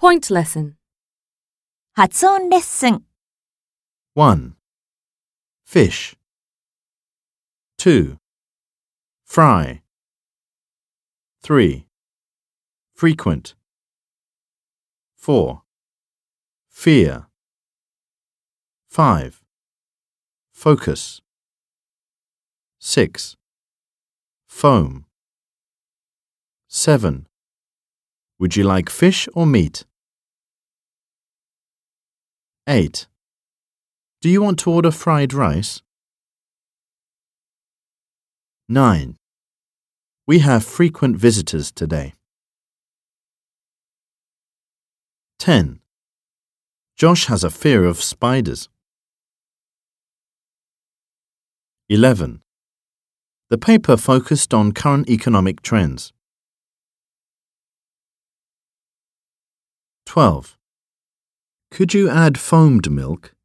Point lesson. 発音レッスン。 1. Fish. 2. Fry. 3. Frequent. 4. Fear. 5. Focus. 6. Foam. 7. Would you like fish or meat? 8. Do you want to order fried rice? 9. We have frequent visitors today. 10. Josh has a fear of spiders. 11. The paper focused on current economic trends. 12. Could you add foamed milk?